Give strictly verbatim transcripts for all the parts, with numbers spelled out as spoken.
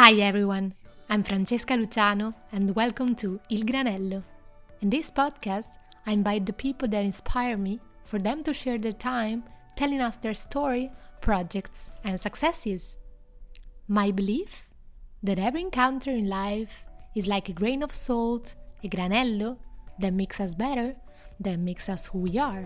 Hi everyone, I'm Francesca Luciano and welcome to Il Granello. In this podcast, I invite the people that inspire me for them to share their time telling us their story, projects, and successes. My belief? That every encounter in life is like a grain of salt, a granello, that makes us better, that makes us who we are.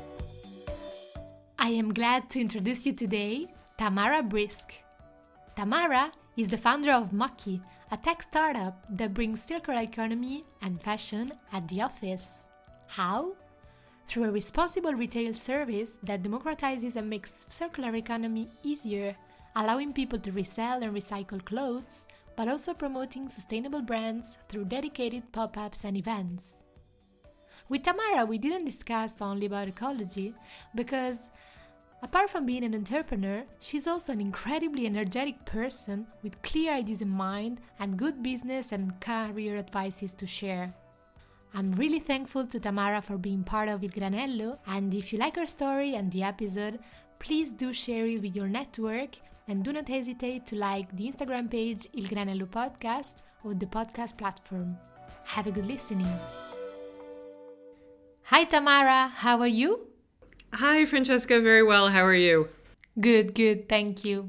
I am glad to introduce you today, Tamara Brisk. Tamara is the founder of Mucky, a tech startup that brings circular economy and fashion at the office. How? Through a responsible retail service that democratizes and makes circular economy easier, allowing people to resell and recycle clothes, but also promoting sustainable brands through dedicated pop-ups and events. With Tamara, we didn't discuss only about ecology, because apart from being an entrepreneur, she's also an incredibly energetic person with clear ideas in mind and good business and career advices to share. I'm really thankful to Tamara for being part of Il Granello, and if you like her story and the episode, please do share it with your network and do not hesitate to like the Instagram page Il Granello Podcast or the podcast platform. Have a good listening. Hi Tamara, how are you? Hi Francesca, very well. How are you? Good, good, thank you.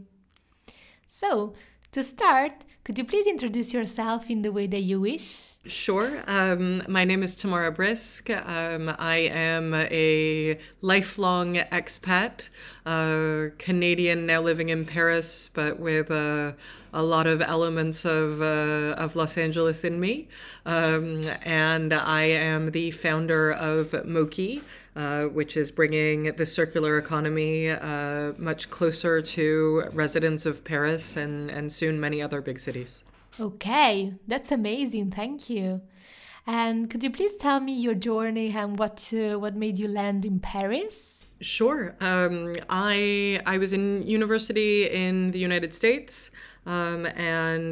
So, to start, could you please introduce yourself in the way that you wish? Sure. Um, my name is Tamara Brisk. Um, I am a lifelong expat, uh, Canadian now living in Paris, but with uh, a lot of elements of uh, of Los Angeles in me. Um, and I am the founder of Moki, uh, which is bringing the circular economy uh, much closer to residents of Paris and, and soon many other big cities. Okay, that's amazing. Thank you. And could you please tell me your journey and what uh, what made you land in Paris? Sure. Um, I I was in university in the United States, um, and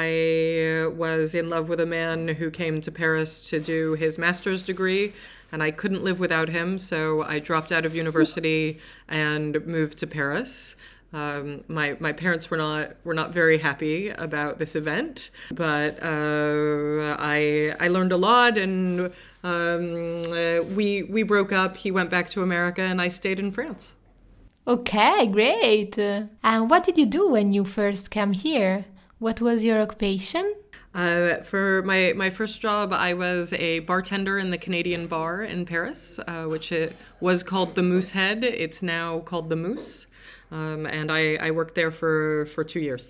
I was in love with a man who came to Paris to do his master's degree, and I couldn't live without him, so I dropped out of university and moved to Paris. Um, my my parents were not were not very happy about this event, but uh, I I learned a lot, and um, uh, we we broke up. He went back to America, and I stayed in France. Okay, great. And what did you do when you first came here? What was your occupation? Uh, for my, my first job, I was a bartender in the Canadian bar in Paris, uh, which it was called the Moosehead. It's now called the Moose. Um, and I, I worked there for, for two years.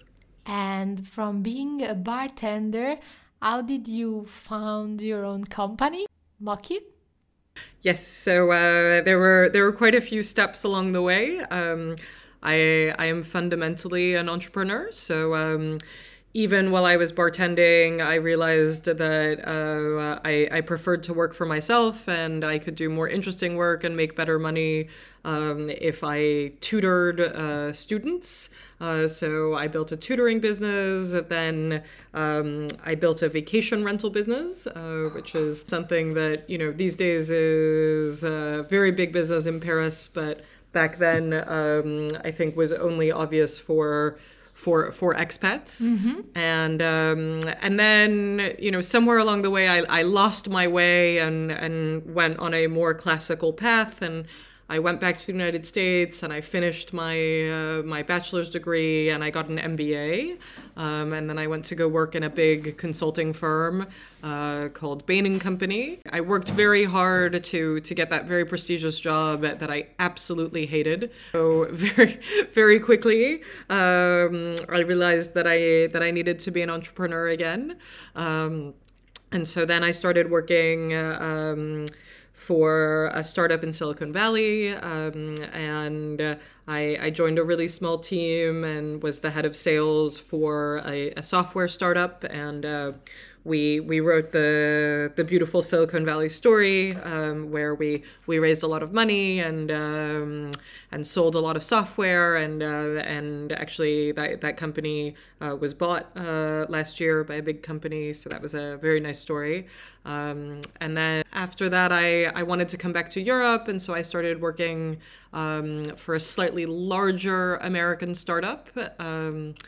And from being a bartender, how did you found your own company, Mucky? Yes, so uh, there were there were quite a few steps along the way. Um, I I am fundamentally an entrepreneur, so um, even while I was bartending, I realized that uh, I, I preferred to work for myself, and I could do more interesting work and make better money um, if I tutored uh, students. Uh, so I built a tutoring business. Then um, I built a vacation rental business, uh, which is something that, you know, these days is a very big business in Paris, but back then um, I think was only obvious for for for expats. Mm-hmm. And um, and then, you know, somewhere along the way, I, I lost my way and, and went on a more classical path. And I went back to the United States and I finished my uh, my bachelor's degree and I got an M B A. Um, and then I went to go work in a big consulting firm uh, called Bain and Company. I worked very hard to to get that very prestigious job that I absolutely hated. So very very quickly, um, I realized that I that I needed to be an entrepreneur again. Um, and so then I started working Uh, um, for a startup in Silicon Valley, um, and uh, I, I joined a really small team and was the head of sales for a, a software startup, and uh, we we wrote the the beautiful Silicon Valley story, um, where we we raised a lot of money and um, and sold a lot of software, and uh, and actually that that company uh, was bought uh, last year by a big company, so that was a very nice story. Um, and then after that, I I wanted to come back to Europe, and so I started working um, for a slightly larger American startup. Um,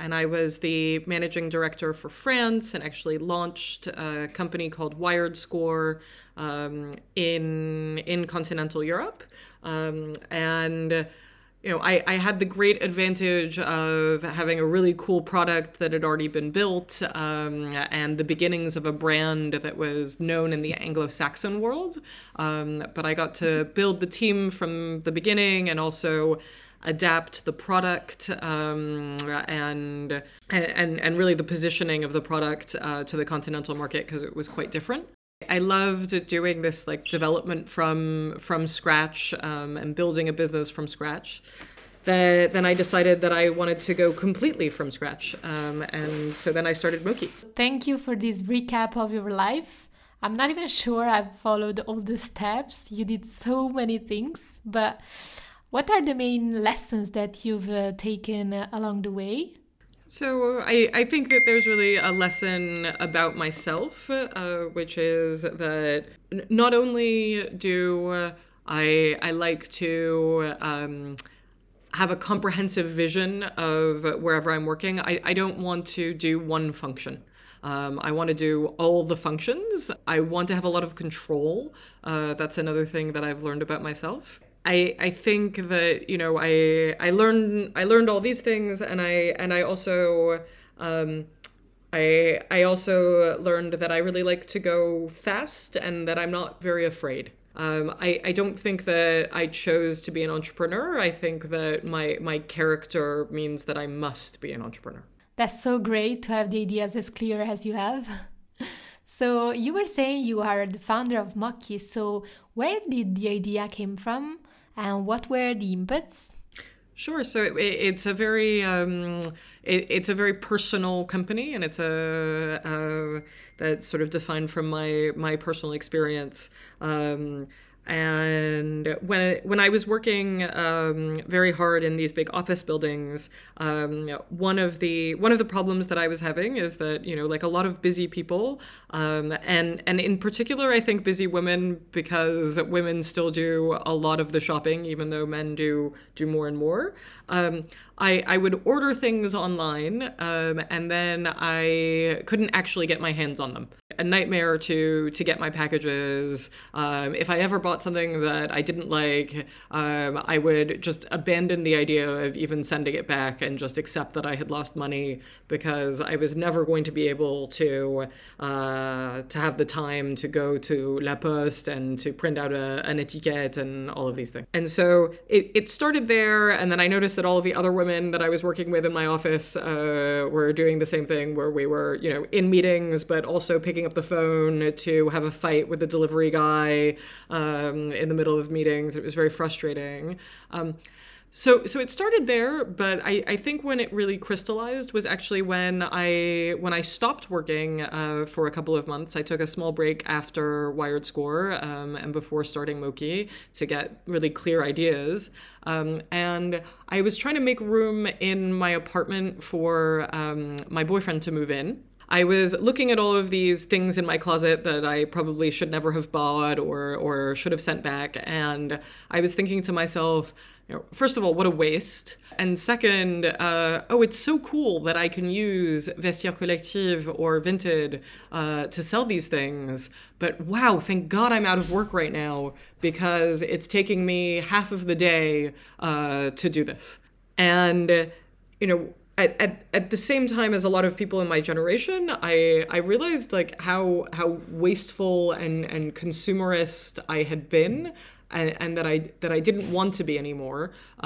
and I was the managing director for France and actually launched a company called Wired Score um, in in continental Europe. Um, and you know, I, I had the great advantage of having a really cool product that had already been built um, and the beginnings of a brand that was known in the Anglo-Saxon world. Um, but I got to build the team from the beginning and also adapt the product um, and, and and really the positioning of the product uh, to the continental market because it was quite different. I loved doing this like development from from scratch um, and building a business from scratch. The, then I decided that I wanted to go completely from scratch. Um, and so then I started Moki. Thank you for this recap of your life. I'm not even sure I've followed all the steps. You did so many things. But what are the main lessons that you've uh, taken uh, along the way? So I, I think that there's really a lesson about myself, uh, which is that not only do I I like to um, have a comprehensive vision of wherever I'm working, I, I don't want to do one function. Um, I want to do all the functions. I want to have a lot of control. Uh, that's another thing that I've learned about myself. I, I think that, you know, I I learned I learned all these things and I and I also um, I I also learned that I really like to go fast and that I'm not very afraid. Um, I, I don't think that I chose to be an entrepreneur. I think that my my character means that I must be an entrepreneur. That's so great to have the ideas as clear as you have. So you were saying you are the founder of Moki. So where did the idea came from? And what were the inputs? Sure. So it, it's a very um, it, it's a very personal company, and it's a uh, that's sort of defined from my my personal experience. Um, And when when I was working um, very hard in these big office buildings, um, one of the one of the problems that I was having is that, you know, like a lot of busy people, um, and and in particular, I think busy women, because women still do a lot of the shopping, even though men do do more and more. Um, I, I would order things online, um, and then I couldn't actually get my hands on them. A nightmare to to get my packages. Um, if I ever bought something that I didn't like, um, I would just abandon the idea of even sending it back and just accept that I had lost money, because I was never going to be able to uh, to have the time to go to La Poste and to print out a, an etiquette and all of these things. And so it, it started there, and then I noticed that all of the other women that I was working with in my office uh, were doing the same thing, where we were, you know, in meetings, but also picking up the phone to have a fight with the delivery guy um, in the middle of meetings. It was very frustrating. Um, So so it started there, but I, I think when it really crystallized was actually when I when I stopped working uh, for a couple of months. I took a small break after Wired Score um, and before starting Moki to get really clear ideas. Um, and I was trying to make room in my apartment for um, my boyfriend to move in. I was looking at all of these things in my closet that I probably should never have bought or or should have sent back. And I was thinking to myself, you know, first of all, what a waste. And second, uh, oh, it's so cool that I can use Vestiaire Collective or Vinted uh, to sell these things. But wow, thank God I'm out of work right now, because it's taking me half of the day uh, to do this. And, uh, you know, At, at at the same time as a lot of people in my generation, I I realized like how how wasteful and, and consumerist I had been, and, and that I that I didn't want to be anymore.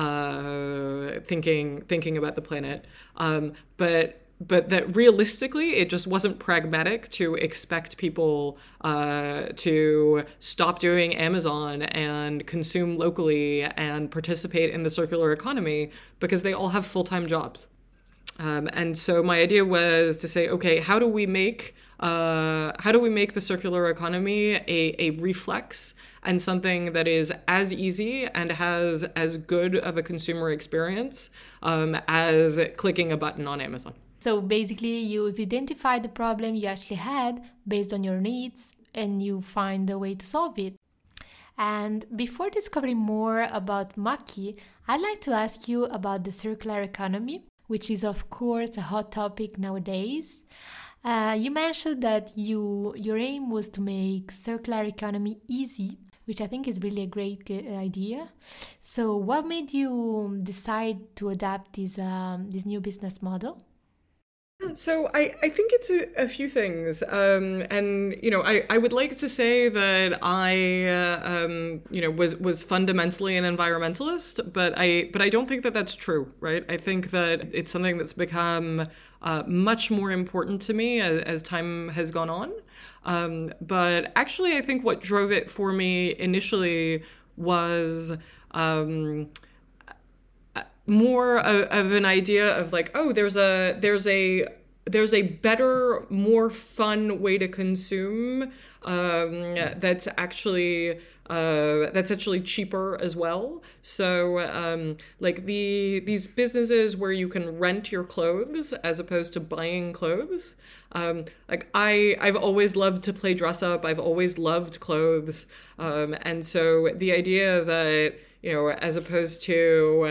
Uh, thinking thinking about the planet, um, but but that realistically it just wasn't pragmatic to expect people uh, to stop doing Amazon and consume locally and participate in the circular economy, because they all have full-time jobs. Um, and so my idea was to say, okay, how do we make uh, how do we make the circular economy a, a reflex and something that is as easy and has as good of a consumer experience um, as clicking a button on Amazon? So basically, you've identified the problem you actually had based on your needs, and you find a way to solve it. And before discovering more about Moki, I'd like to ask you about the circular economy. which is of course a hot topic nowadays. Uh, you mentioned that you your aim was to make circular economy easy, which I think is really a great idea. So what made you decide to adapt this um, this new business model? So I, I think it's a, a few things. Um, and, you know, I, I would like to say that I, uh, um, you know, was, was fundamentally an environmentalist, but I, but I don't think that that's true, right? I think that it's something that's become uh, much more important to me as, as time has gone on. Um, but actually, I think what drove it for me initially was... Um, more of, of an idea of like, oh, there's a there's a there's a better, more fun way to consume um, that's actually uh, that's actually cheaper as well. So um, like the these businesses where you can rent your clothes as opposed to buying clothes. Um, like I I've always loved to play dress up. I've always loved clothes, um, and so the idea that, you know, as opposed to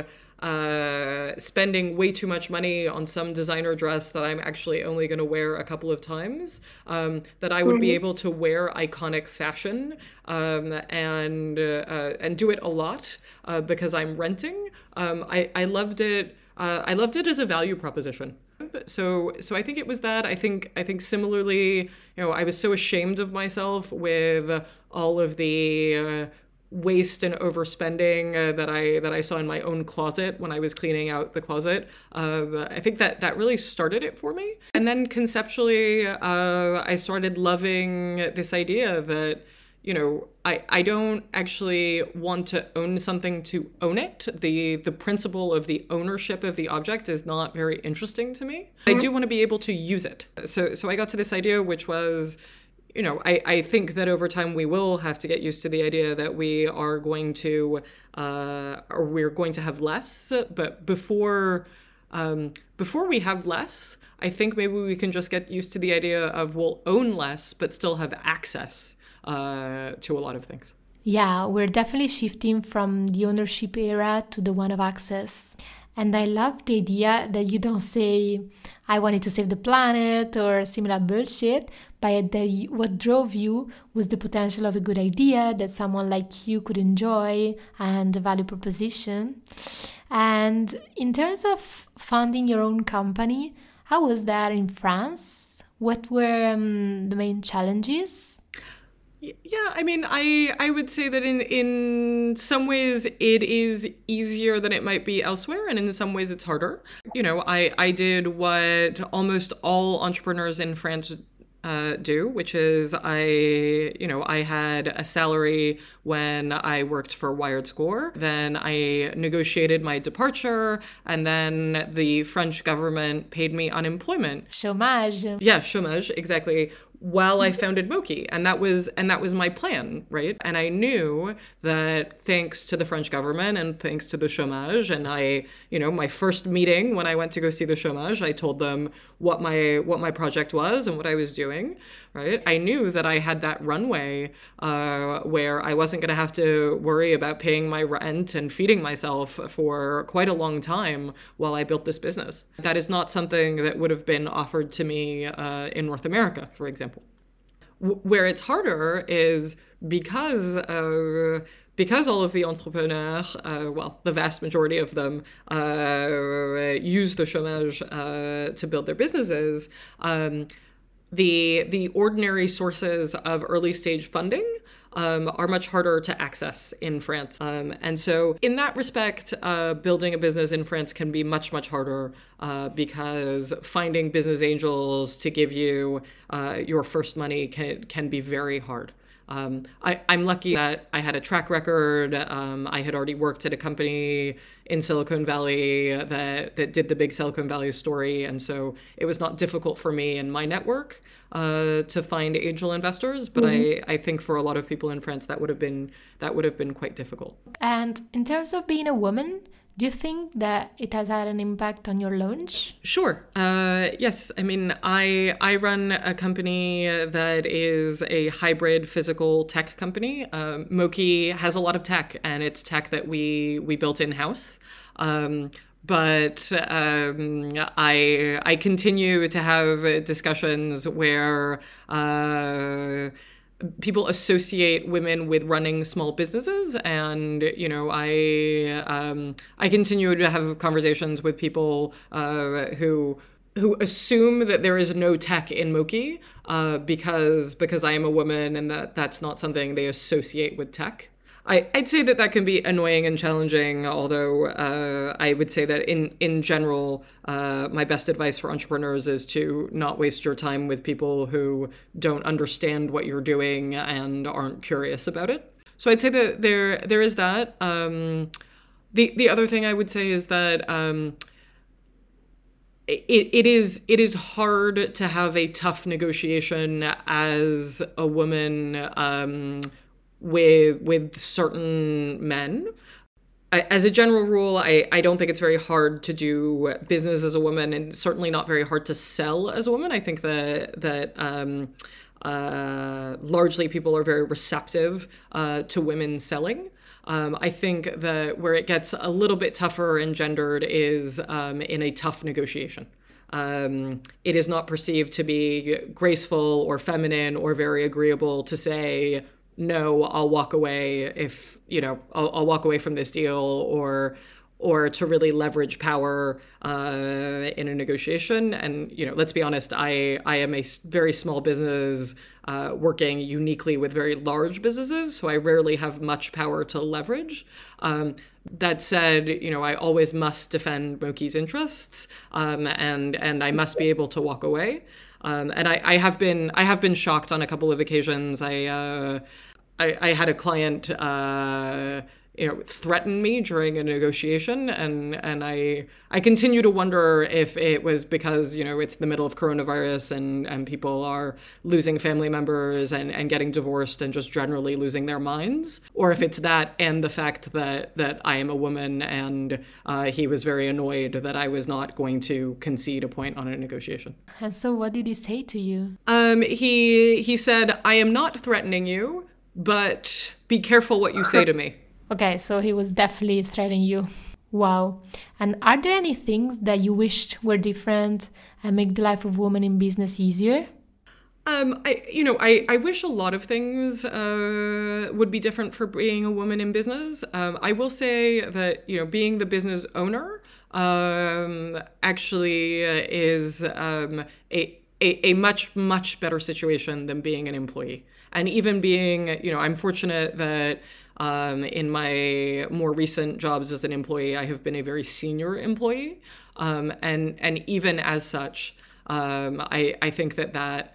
Uh, spending way too much money on some designer dress that I'm actually only going to wear a couple of times, um, that I would mm-hmm. be able to wear iconic fashion um, and uh, and do it a lot uh, because I'm renting. Um, I, I loved it. Uh, I loved it as a value proposition. So so I think it was that. I think I think similarly, you know, I was so ashamed of myself with all of the uh, waste and overspending uh, that I that I saw in my own closet when I was cleaning out the closet. Uh, I think that that really started it for me. And then conceptually, uh, I started loving this idea that, you know, I, I don't actually want to own something to own it. The the principle of the ownership of the object is not very interesting to me. Mm-hmm. I do want to be able to use it. So so I got to this idea, which was, you know, I, I think that over time we will have to get used to the idea that we are going to, uh, or we're going to have less. But before, um, before we have less, I think maybe we can just get used to the idea of we'll own less, but still have access uh, to a lot of things. Yeah, we're definitely shifting from the ownership era to the one of access. And I love the idea that you don't say, I wanted to save the planet or similar bullshit, but that what drove you was the potential of a good idea that someone like you could enjoy and the value proposition. And in terms of founding your own company, how was that in France? What were um, the main challenges? Yeah, I mean, I I would say that in in some ways it is easier than it might be elsewhere, and in some ways it's harder. You know, I, I did what almost all entrepreneurs in France uh, do, which is I, you know, I had a salary when I worked for Wired Score. Then I negotiated my departure, and then the French government paid me unemployment. Chômage. Yeah, chômage, exactly. While I founded Moki, and that was and that was my plan, right? And I knew that thanks to the French government and thanks to the chômage, and I, you know, my first meeting when I went to go see the chômage, I told them what my what my project was and what I was doing, right? I knew that I had that runway uh, where I wasn't going to have to worry about paying my rent and feeding myself for quite a long time while I built this business. That is not something that would have been offered to me uh, in North America, for example. W- where it's harder is because uh, because all of the entrepreneurs, uh, well, the vast majority of them uh, use the chômage uh, to build their businesses. Um, the the ordinary sources of early stage funding um, are much harder to access in France. Um, and so in that respect, uh, building a business in France can be much, much harder uh, because finding business angels to give you uh, your first money can can be very hard. Um, I, I'm lucky that I had a track record. Um, I had already worked at a company in Silicon Valley that, that did the big Silicon Valley story. And so it was not difficult for me in my network uh, to find angel investors. But mm-hmm. I, I think for a lot of people in France, that would have been that would have been quite difficult. And in terms of being a woman, do you think that it has had an impact on your launch? Sure. Uh, yes. I mean, I I run a company that is a hybrid physical tech company. Um, Moki has a lot of tech, and it's tech that we we built in-house. Um, but um, I I continue to have discussions where uh, people associate women with running small businesses, and you know I um, I continue to have conversations with people uh, who. who assume that there is no tech in Moki uh, because because I am a woman and that that's not something they associate with tech. I, I'd say that that can be annoying and challenging, although uh, I would say that in, in general, uh, my best advice for entrepreneurs is to not waste your time with people who don't understand what you're doing and aren't curious about it. So I'd say that there there is that. Um, the, the other thing I would say is that um, It it is it is hard to have a tough negotiation as a woman um, with with certain men. As a general rule, I, I don't think it's very hard to do business as a woman, and certainly not very hard to sell as a woman. I think that that um, uh, largely people are very receptive uh, to women selling. Um, I think that where it gets a little bit tougher and gendered is um, in a tough negotiation. Um, it is not perceived to be graceful or feminine or very agreeable to say, no, I'll walk away if, you know, I'll, I'll walk away from this deal, or or to really leverage power uh, in a negotiation. And, you know, let's be honest, I, I am a very small business uh, working uniquely with very large businesses, so I rarely have much power to leverage. Um, that said, you know, I always must defend Moki's interests, um, and and I must be able to walk away. Um, and I, I have been I have been shocked on a couple of occasions. I uh, I, I had a client uh, you know threaten me during a negotiation, and and I I continue to wonder if it was because you know it's the middle of coronavirus and, and people are losing family members and, and getting divorced and just generally losing their minds, or if it's that and the fact that that I am a woman, and uh, he was very annoyed that I was not going to concede a point on a negotiation. And so what did he say to you? Um, he he said, I am not threatening you, but be careful what you say to me. Okay, so he was definitely threatening you. Wow. And are there any things that you wished were different and make the life of women in business easier? Um, I, you know, I, I wish a lot of things uh, would be different for being a woman in business. Um, I will say that, you know, being the business owner um, actually is um, a, a, a much, much better situation than being an employee. And even being, you know, I'm fortunate that Um, in my more recent jobs as an employee, I have been a very senior employee. Um, and, and even as such, um, I, I think that that,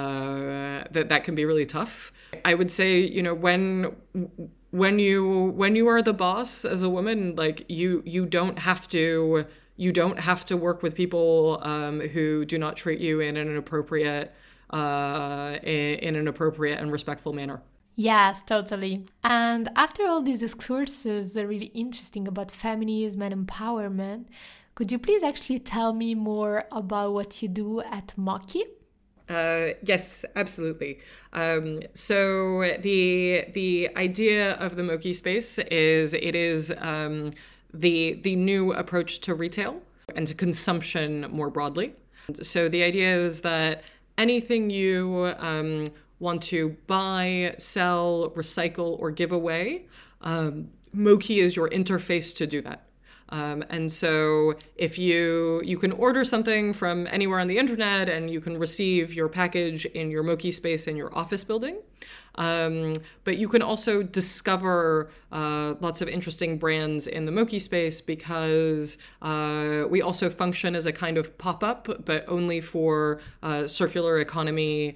uh, that that can be really tough. I would say, you know, when, when you, when you are the boss as a woman, like you, you don't have to, you don't have to work with people, um, who do not treat you in an appropriate, uh, in, in an appropriate and respectful manner. Yes, totally. And after all these excursions are really interesting about feminism and empowerment, could you please actually tell me more about what you do at Moki? Uh, yes, absolutely. Um, so the the idea of the Moki space is it is um, the the new approach to retail and to consumption more broadly. So the idea is that anything you um, want to buy, sell, recycle, or give away, um, Moki is your interface to do that. Um, and so if you you can order something from anywhere on the internet and you can receive your package in your Moki space in your office building. Um, but you can also discover uh, lots of interesting brands in the Moki space because uh, we also function as a kind of pop-up, but only for uh, circular economy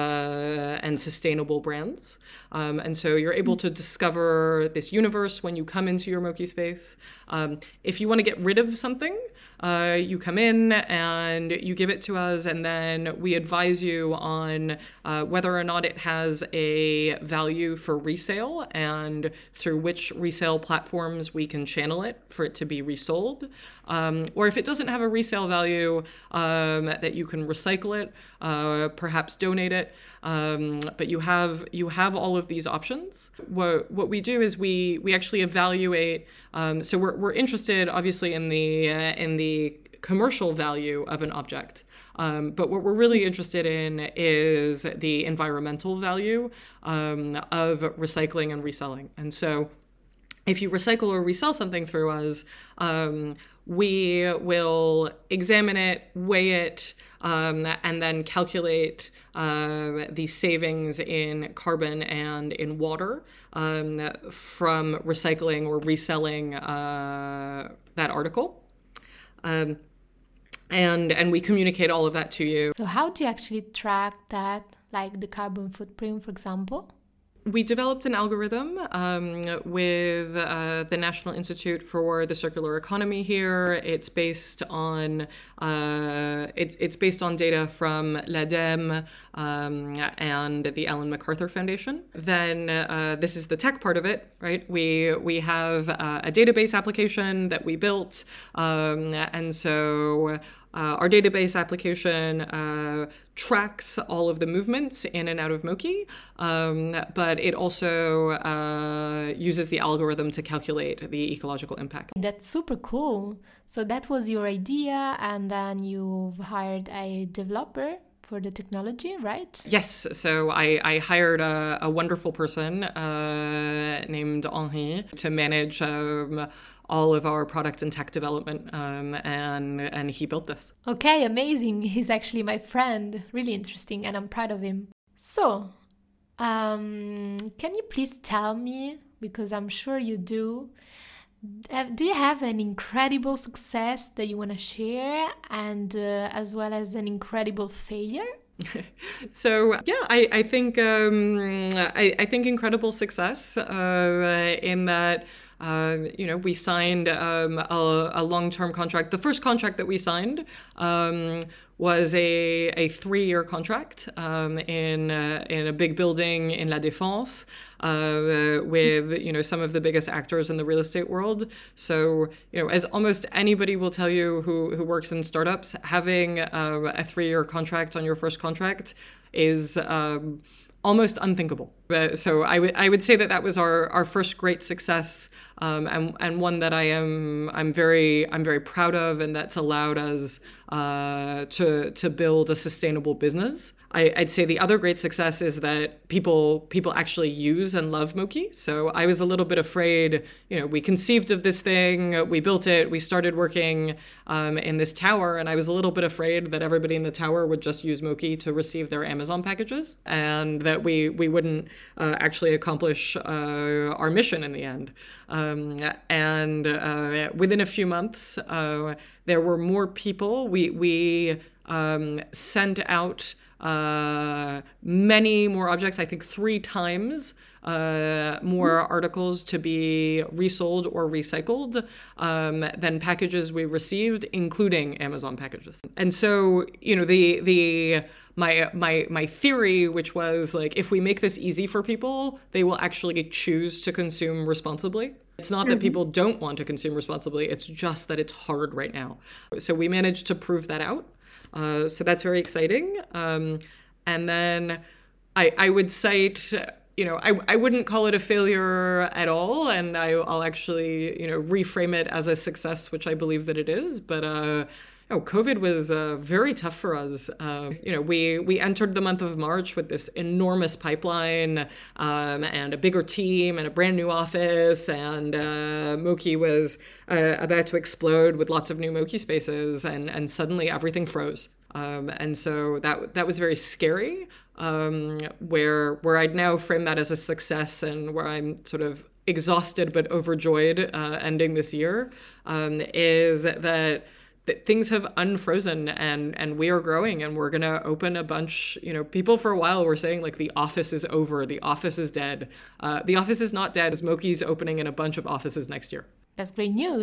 uh, and sustainable brands. Um, and so you're able to discover this universe when you come into your Moki space. Um, if you want to get rid of something, uh, you come in and you give it to us, and then we advise you on uh, whether or not it has a value for resale and through which resale platforms we can channel it for it to be resold. Um, or if it doesn't have a resale value, um, that you can recycle it, uh, perhaps donate it. Um, but you have you have all of these options. What what we do is we we actually evaluate. Um, so we're we're interested, obviously, in the uh, in the commercial value of an object. Um, but what we're really interested in is the environmental value um, of recycling and reselling. And so if you recycle or resell something through us, um, we will examine it, weigh it, um, and then calculate uh, the savings in carbon and in water um, from recycling or reselling uh, that article. Um, and and we communicate all of that to you. So how do you actually track that, like the carbon footprint, for example? We developed an algorithm um, with uh, the National Institute for the Circular Economy here. It's based on uh, it's it's based on data from l'ADEME um, and the Ellen MacArthur Foundation. Then uh, this is the tech part of it, right? We we have uh, a database application that we built, um, and so. Uh, our database application uh, tracks all of the movements in and out of Moki, um, but it also uh, uses the algorithm to calculate the ecological impact. That's super cool. So that was your idea, and then you've hired a developer for the technology, right? Yes. So I, I hired a, a wonderful person uh, named Henri to manage um, all of our product and tech development, um, and and he built this. Okay, amazing. He's actually my friend. Really interesting, and I'm proud of him. So, um, can you please tell me, because I'm sure you do, uh, do you have an incredible success that you want to share, and uh, as well as an incredible failure? So yeah, I I think um, I I think incredible success uh, in that. Uh, you know, we signed um, a, a long-term contract. The first contract that we signed um, was a, a three-year contract um, in uh, in a big building in La Défense uh, with, you know, some of the biggest actors in the real estate world. So, you know, as almost anybody will tell you who, who works in startups, having uh, a three-year contract on your first contract is um, almost unthinkable. Uh, so I would I would say that that was our, our first great success, um, and and one that I am I'm very I'm very proud of, and that's allowed us uh, to to build a sustainable business. I, I'd say the other great success is that people people actually use and love Moki. So I was a little bit afraid. You know, we conceived of this thing, we built it, we started working um, in this tower, and I was a little bit afraid that everybody in the tower would just use Moki to receive their Amazon packages, and that we we wouldn't uh, actually accomplish uh, our mission in the end. Um, and uh, within a few months, uh, there were more people. We we um, sent out. Uh, many more objects, I think three times uh, more articles to be resold or recycled um, than packages we received, including Amazon packages. And so, you know, the the my my my theory, which was like, if we make this easy for people, they will actually choose to consume responsibly. It's not that people don't want to consume responsibly, it's just that it's hard right now. So we managed to prove that out. Uh, so that's very exciting. Um, and then I, I would cite, you know, I, I wouldn't call it a failure at all. And I, I'll actually, you know, reframe it as a success, which I believe that it is. But, uh, you know, COVID was uh, very tough for us. Uh, you know, we, we entered the month of March with this enormous pipeline um, and a bigger team and a brand new office. And uh, Moki was uh, about to explode with lots of new Moki spaces. And, and suddenly everything froze. Um, and so that that was very scary, um, where where I'd now frame that as a success, and where I'm sort of exhausted but overjoyed uh, ending this year, um, is that that things have unfrozen, and and we are growing, and we're going to open a bunch. You know, people for a while were saying like the office is over, the office is dead. Uh, the office is not dead. Moki's opening in a bunch of offices next year. That's great news.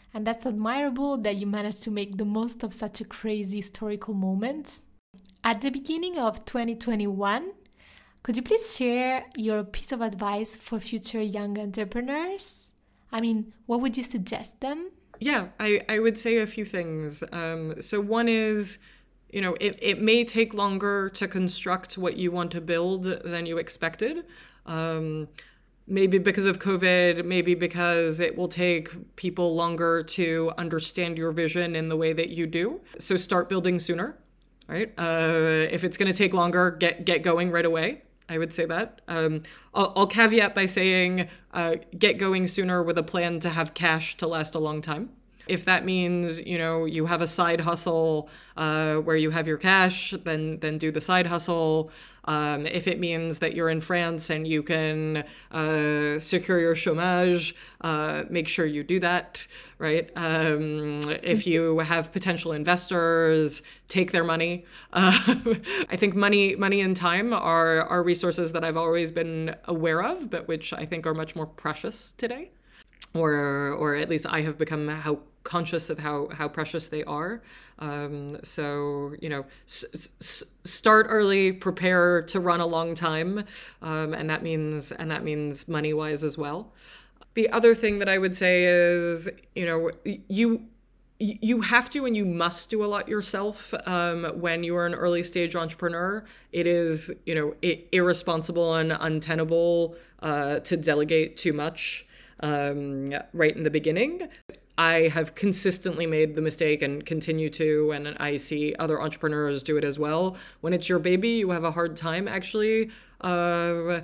And that's admirable that you managed to make the most of such a crazy historical moment. At the beginning of twenty twenty-one, could you please share your piece of advice for future young entrepreneurs? I mean, what would you suggest them? Yeah, I, I would say a few things. Um, so one is, you know, it, it may take longer to construct what you want to build than you expected. Um, maybe because of COVID, maybe because it will take people longer to understand your vision in the way that you do. So start building sooner, right? Uh, if it's going to take longer, get get going right away. I would say that. Um, I'll, I'll caveat by saying uh, get going sooner with a plan to have cash to last a long time. If that means, you know, you have a side hustle uh, where you have your cash, then then do the side hustle. Um, if it means that you're in France and you can uh, secure your chômage, uh, make sure you do that, right? Um, if you have potential investors, take their money. Uh, I think money, money and time are are resources that I've always been aware of, but which I think are much more precious today. Or, or at least I have become how conscious of how, how precious they are. Um, so, you know, s- s- start early, prepare to run a long time. Um, and that means, and that means money wise as well. The other thing that I would say is, you know, you, you have to and you must do a lot yourself um, when you are an early stage entrepreneur. It is, you know, I- irresponsible and untenable uh, to delegate too much. Um, right in the beginning. I have consistently made the mistake and continue to, and I see other entrepreneurs do it as well. When it's your baby, you have a hard time actually uh,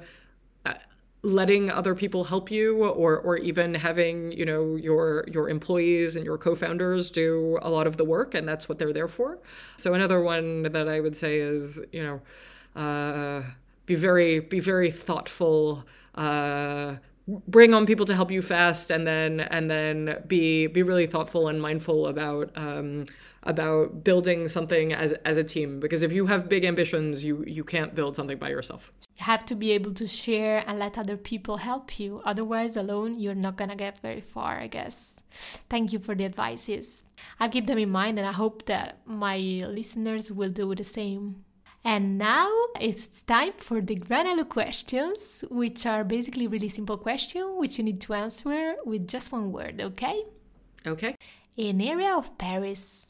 letting other people help you, or or even having, you know, your your employees and your co-founders do a lot of the work, and that's what they're there for. So another one that I would say is, you know, uh, be very be very thoughtful. Uh, Bring on people to help you fast, and then and then be be really thoughtful and mindful about um, about building something as as a team. Because if you have big ambitions, you you can't build something by yourself. You have to be able to share and let other people help you. Otherwise, alone, you're not gonna get very far, I guess. Thank you for the advices. I'll keep them in mind, and I hope that my listeners will do the same. And now it's time for the Granello questions, which are basically really simple questions, which you need to answer with just one word, okay? Okay. An area of Paris.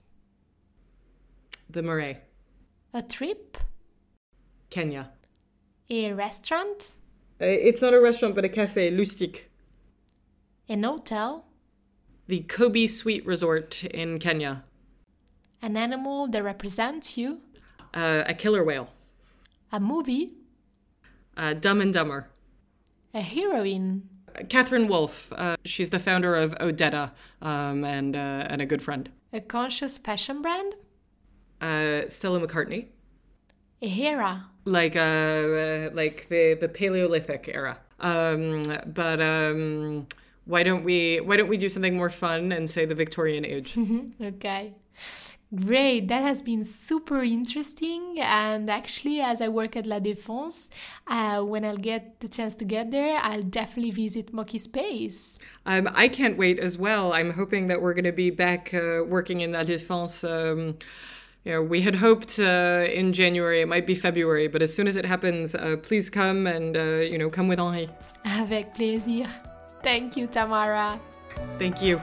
The Marais. A trip. Kenya. A restaurant. Uh, it's not a restaurant, but a cafe, Lustig. An hotel. The Kobe Suite Resort in Kenya. An animal that represents you. Uh, a killer whale. A movie. Uh, Dumb and Dumber. A heroine. Catherine Wolfe. Uh, she's the founder of Odetta um, and uh, and a good friend. A conscious fashion brand. Uh, Stella McCartney. A era. Like uh, uh, like the, the Paleolithic era. Um, but um, why don't we why don't we do something more fun and say the Victorian age? Okay. Great, that has been super interesting. And actually, as I work at La Défense, uh, when I'll get the chance to get there, I'll definitely visit Moki Space. Um, I can't wait as well. I'm hoping that we're going to be back uh, working in La Défense. Um, you know, we had hoped uh, in January, it might be February, but as soon as it happens, uh, please come and, uh, you know, come with Henri. Avec plaisir. Thank you, Tamara. Thank you.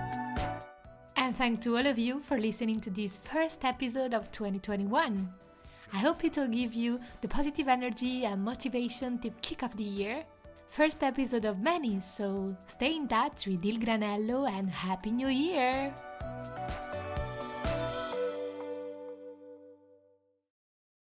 And thanks to all of you for listening to this first episode of twenty twenty-one. I hope it will give you the positive energy and motivation to kick off the year. First episode of many, so stay in touch with Il Granello and Happy New Year!